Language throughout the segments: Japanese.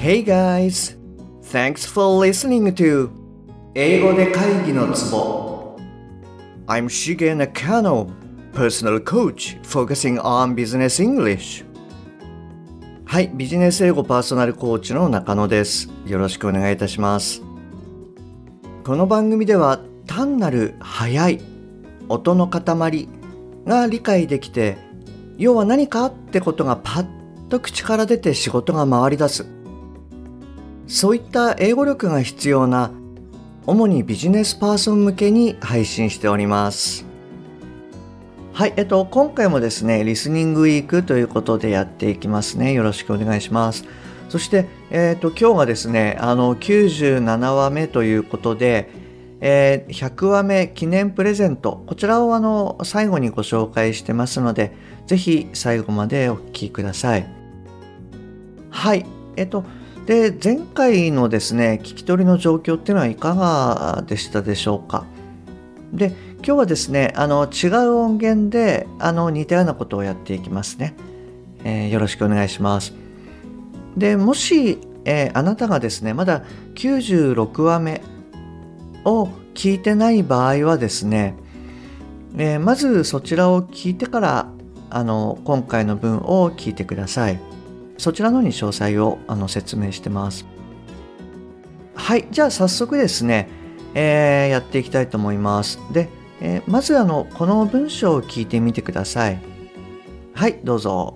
Hey guys! Thanks for listening to 英語で会議のツボ I'm Shige Nakano, personal coach focusing on business English. はい、ビジネス英語パーソナルコーチの中野です。よろしくお願いいたします。この番組では単なる速い音の塊が理解できて、要は何かってことがパッと口から出て仕事が回り出す。そういった英語力が必要な主にビジネスパーソン向けに配信しております。はい、今回もですね、リスニングウィークということでやっていきますね。よろしくお願いします。そして、今日がですね、97話目ということで、100話目記念プレゼント、こちらを最後にご紹介してますので、ぜひ最後までお聞きください。はい、で、前回のですね、聞き取りの状況っていうのはいかがでしたでしょうか。で、今日はですね、違う音源で似たようなことをやっていきますね。よろしくお願いします。で、もし、あなたがですね、まだ96話目を聞いてない場合はですね、まずそちらを聞いてから今回の文を聞いてください。そちらのに詳細を説明してます。はい、じゃあ早速ですね、やっていきたいと思います。で、まずこの文章を聞いてみてください。はい、どうぞ。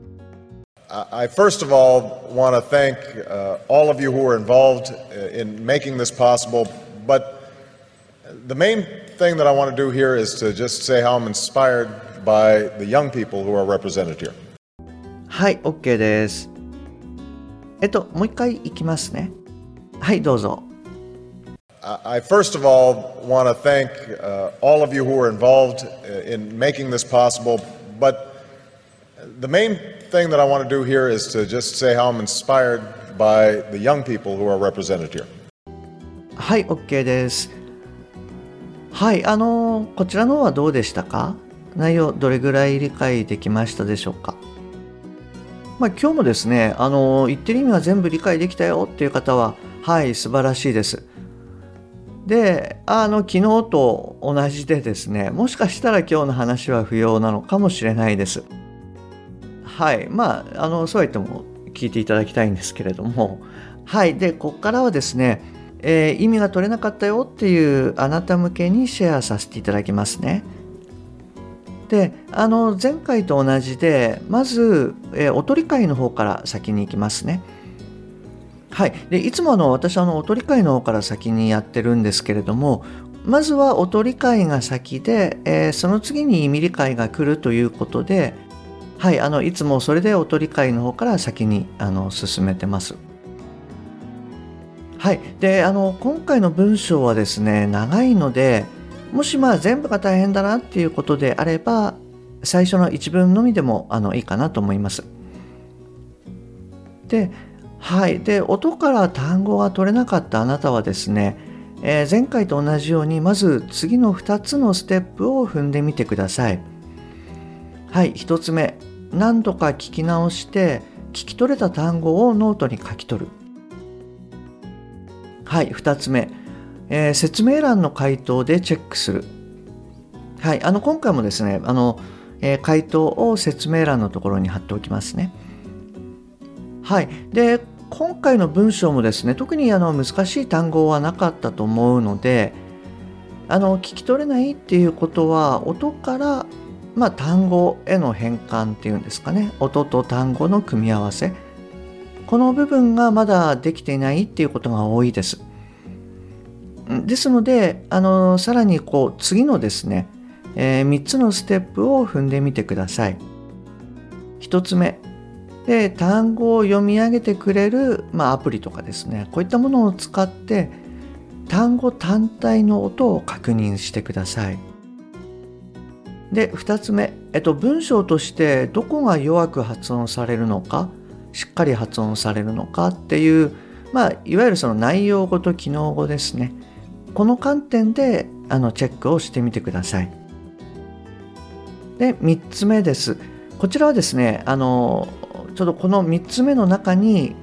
I first of all want to thank all of you who were involved in making this possible, but the main thing that I want to do here is to just say how I'm inspired by the young people who are represented here. はい、OK です。もう一回いきますね。はい、どうぞ。 I first of all want to thank all of you who were involved in making this possible, but the main thing that I want to do here is to just say how I'm inspired by the young people who are represented here. はい、OK です。はい、こちらの方はどうでしたか？内容どれぐらい理解できましたでしょうか？今日もですね、言ってる意味は全部理解できたよっていう方は、はい、素晴らしいです。で、昨日と同じでですね、もしかしたら今日の話は不要なのかもしれないです。はい、そうは言っても聞いていただきたいんですけれども、はい、で、ここからはですね、意味が取れなかったよっていうあなた向けにシェアさせていただきますね。で、前回と同じで、まず、おとり会の方から先に行きますね。はい。で、いつも私おとり会の方から先にやってるんですけれども、まずはおとり会が先で、その次に意味理解が来るということで、はい、いつもそれでおとり会の方から先に進めてます。はい。で、今回の文章はですね、長いので、もし全部が大変だなっていうことであれば、最初の一文のみでもいいかなと思います。で、はい。で、音から単語が取れなかったあなたはですね、前回と同じように、まず次の2つのステップを踏んでみてください。はい。1つ目、何度か聞き直して、聞き取れた単語をノートに書き取る。はい。2つ目、説明欄の回答でチェックする。はい。今回もですね、回答を説明欄のところに貼っておきますね。はい。で、今回の文章もですね、特に難しい単語はなかったと思うので、聞き取れないっていうことは、音から、単語への変換っていうんですかね。音と単語の組み合わせ。この部分がまだできていないっていうことが多いです。ですので、さらに次のですね、3つのステップを踏んでみてください。1つ目で、単語を読み上げてくれる、アプリとかですね、こういったものを使って単語単体の音を確認してください。で、2つ目、文章としてどこが弱く発音されるのか、しっかり発音されるのかっていう、いわゆるその内容語と機能語ですね。この観点でチェックをしてみてください。で、3つ目です。こちらはですね、ちょうどこの3つ目の中に、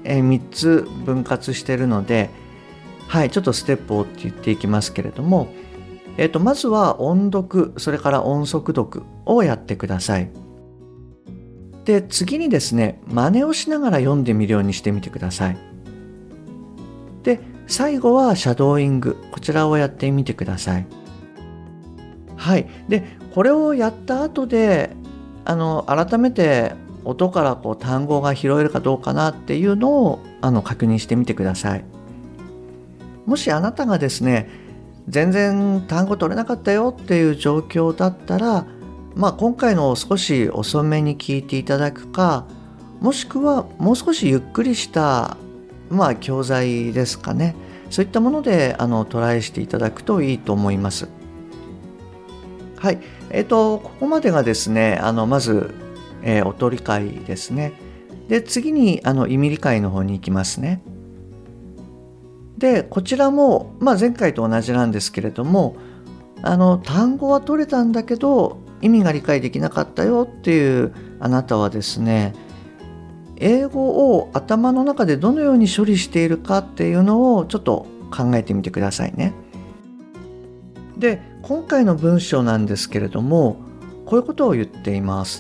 3つ分割しているので、はい、ちょっとステップをって言っていきますけれども、まずは音読、それから音速読をやってください。で、次にですね、真似をしながら読んでみるようにしてみてください。で、最後はシャドーイング、こちらをやってみてください。はい。で、これをやった後で、改めて音から単語が拾えるかどうかなっていうのを確認してみてください。もしあなたがですね、全然単語取れなかったよっていう状況だったら、今回のを少し遅めに聞いていただくか、もしくはもう少しゆっくりした教材ですかね、そういったものでトライしていただくといいと思います。はい、ここまでがですね、まず、音理解ですね。で、次に意味理解の方に行きますね。で、こちらも、前回と同じなんですけれども、単語は取れたんだけど意味が理解できなかったよっていうあなたはですね、英語を頭の中でどのように処理しているかっていうのをちょっと考えてみてくださいね。で、今回の文章なんですけれども、こういうことを言っています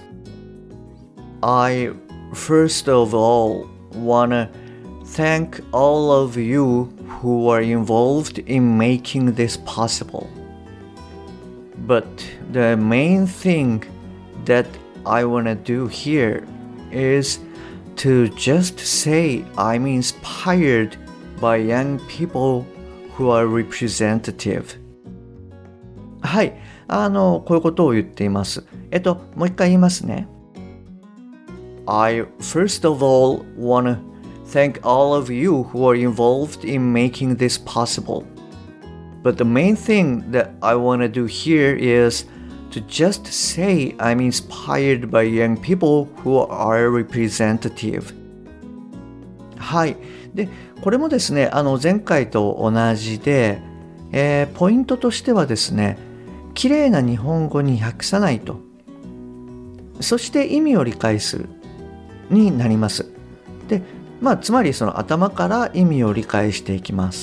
。I first of all wanna thank all of you who were involved in making this possible. But the main thing that I wanna do here is to just say I'm inspired by young people who are representative. はい、こういうことを言っています。もう一回言いますね。I first of all wanna thank all of you who are involved in making this possible. But the main thing that I wanna do here is to just say I'm inspired by young people who are representative. はい。で、これもですね、前回と同じで、ポイントとしてはですね、綺麗な日本語に訳さないと。そして意味を理解するになります。で、つまりその頭から意味を理解していきます。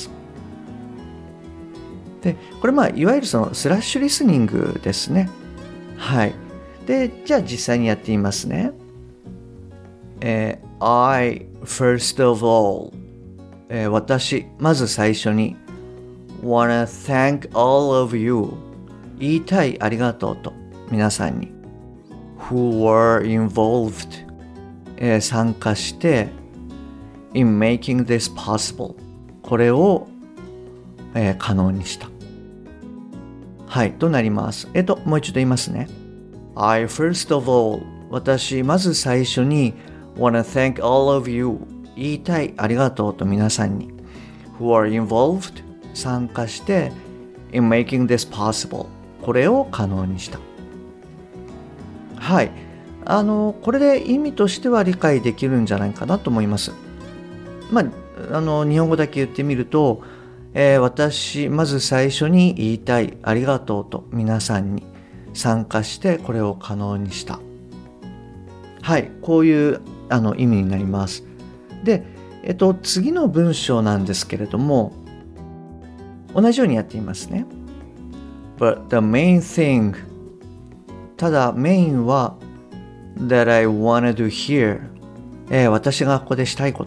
で、これいわゆるそのスラッシュリスニングですね。はい。で、じゃあ実際にやってみますね。I first of all、私、まず最初に wanna thank all of you、 言いたい、ありがとうと皆さんに who were involved、参加してin making this possible、 これを、可能にした。はいとなります。もう一度言いますね。 I first of all、 私まず最初に wanna thank all of you、 言いたい、ありがとうと皆さんに who are involved、 参加して in making this possible、 これを可能にした。はい、これで意味としては理解できるんじゃないかなと思います。日本語だけ言ってみると、私まず最初に言いたい、ありがとうと皆さんに参加してこれを可能にした。はい、こういう意味になります。で、次の文章なんですけれども、同じようにやってみますね。But the main thing、 ただメインは that I wanna do here、私がここでしたいこと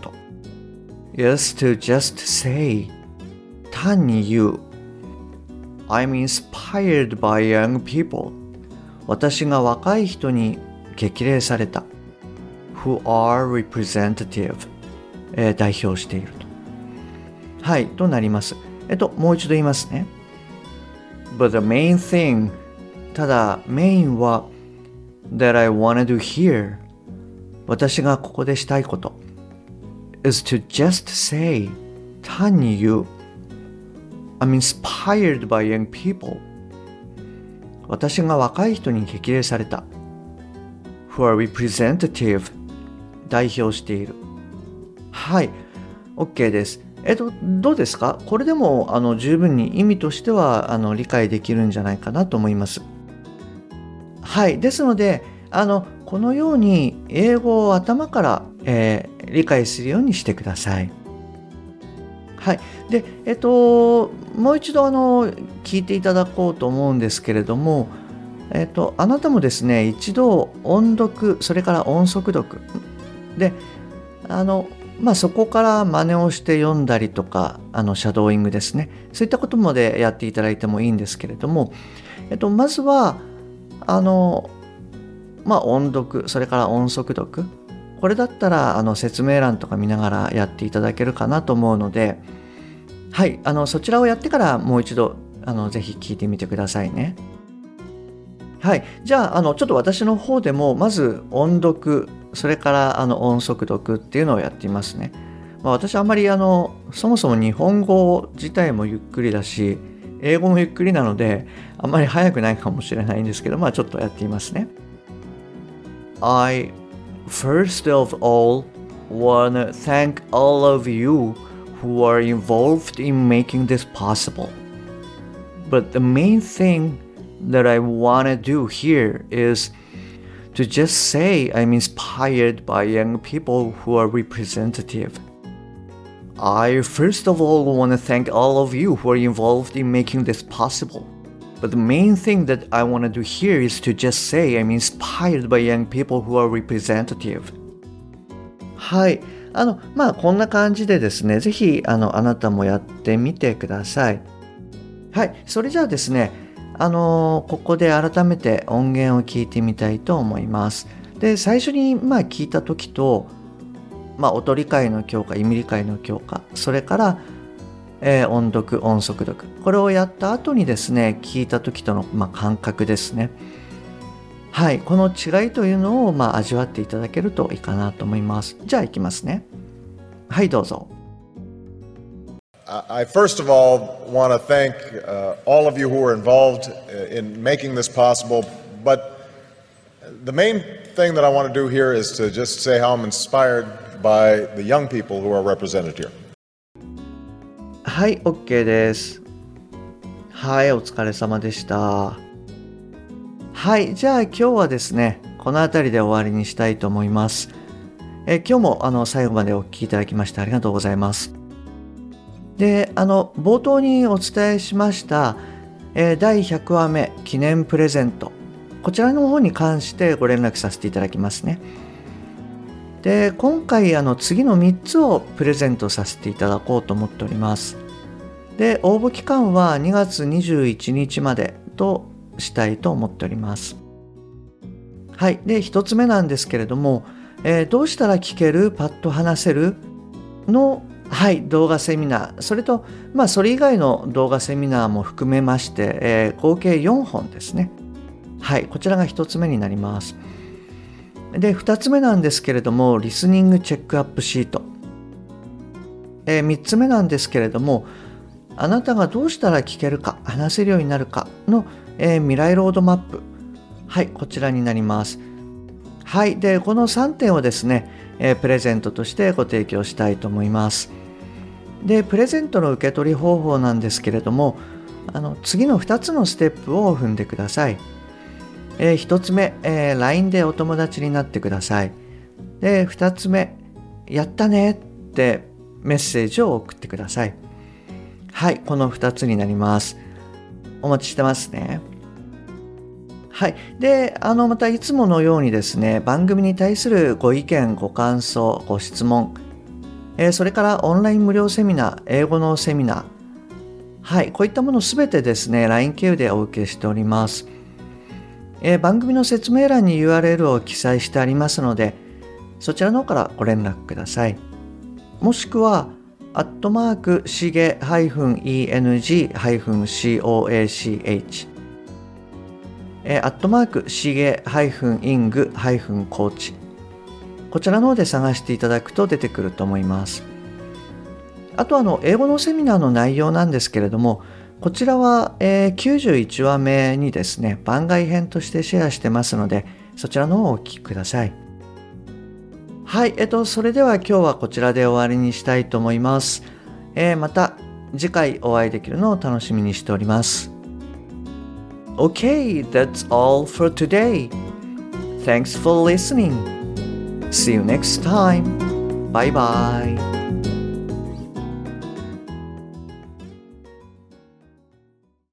is to just say、 単に言う I'm inspired by young people、 私が若い人に激励された who are representative、代表していると。はいとなります。もう一度言いますね。 But the main thing、 ただメインは that I wanna do here、 私がここでしたいこと is to just say、 単に言う I'm inspired by young people、 私が若い人に激励された who are representative、 代表している。はい OK です。どうですか？これでも十分に意味としては理解できるんじゃないかなと思います。はい、ですのでこのように英語を頭から、 理解するようにしてください。はい。で、もう一度聞いていただこうと思うんですけれども、あなたもですね、一度音読、それから音速読で、そこから真似をして読んだりとか、シャドーイングですね。そういったことまでやっていただいてもいいんですけれども、まずは、音読、それから音速読。これだったら、説明欄とか見ながらやっていただけるかなと思うので、はい、そちらをやってからもう一度、ぜひ聞いてみてくださいね。はい。じゃあ、ちょっと私の方でも、まず音読、それから音速読っていうのをやっていますね。私あんまりそもそも日本語自体もゆっくりだし、英語もゆっくりなので、あんまり早くないかもしれないんですけど、ちょっとやってみますね。I first of all wanna thank all of you who are involved in making this possible. But the main thing that I wanna do here is to just say I'm inspired by young people who are representative. I first of all want to thank all of you who are involved in making this possible. But the main thing that I want to do here is to just say I'm inspired by young people who are representative. はい。こんな感じでですね、ぜひ、あなたもやってみてください。はい。それじゃあですね、ここで改めて音源を聞いてみたいと思います。で、最初に聞いた時と、音理解の強化、意味理解の強化、それから、音読、音速読、これをやった後にですね、聞いた時との、感覚ですね。はい、この違いというのを、味わっていただけるといいかなと思います。じゃあいきますね。はい、どうぞ。 I first of all want to thank all of you who are involved in making this possible, but the main thing that I want to do here is to just say how I'm inspired by the young people who are represented here. はい、OK です。はい、お疲れ様でした。はい、じゃあ今日はですね、この辺りで終わりにしたいと思います。今日も最後までお聞きいただきましてありがとうございます。で、冒頭にお伝えしました、第100話目記念プレゼント、こちらの方に関してご連絡させていただきますね。で、今回次の3つをプレゼントさせていただこうと思っております。で、応募期間は2月21日までとしたいと思っております。はい。で、1つ目なんですけれども、どうしたら聞ける、パッと話せるの、はい、動画セミナー、それと、それ以外の動画セミナーも含めまして、合計4本ですね。はい、こちらが1つ目になります。で、2つ目なんですけれども、リスニングチェックアップシート。3つ目なんですけれども、あなたがどうしたら聞けるか、話せるようになるかの、未来ロードマップ。はい、こちらになります。はい、で、この3点をですね、プレゼントとしてご提供したいと思います。で、プレゼントの受け取り方法なんですけれども、次の2つのステップを踏んでください。1つ目、LINE でお友達になってください。で、2つ目、やったねってメッセージを送ってください。はい、この2つになります。お待ちしてますね。はい。で、またいつものようにですね、番組に対するご意見、ご感想、ご質問、それからオンライン無料セミナー、英語のセミナー、はい、こういったものすべてですね、LINE 経由でお受けしております。番組の説明欄に URL を記載してありますので、そちらの方からご連絡ください。もしくは、しげ-eng-coachしげ-ing-coach こちらの方で探していただくと出てくると思います。あと英語のセミナーの内容なんですけれども、こちらは、91話目にですね、番外編としてシェアしてますので、そちらの方をお聞きください。はい、それでは今日はこちらで終わりにしたいと思います。また次回お会いできるのを楽しみにしております。Okay, that's all for today. Thanks for listening. See you next time. バイバイ。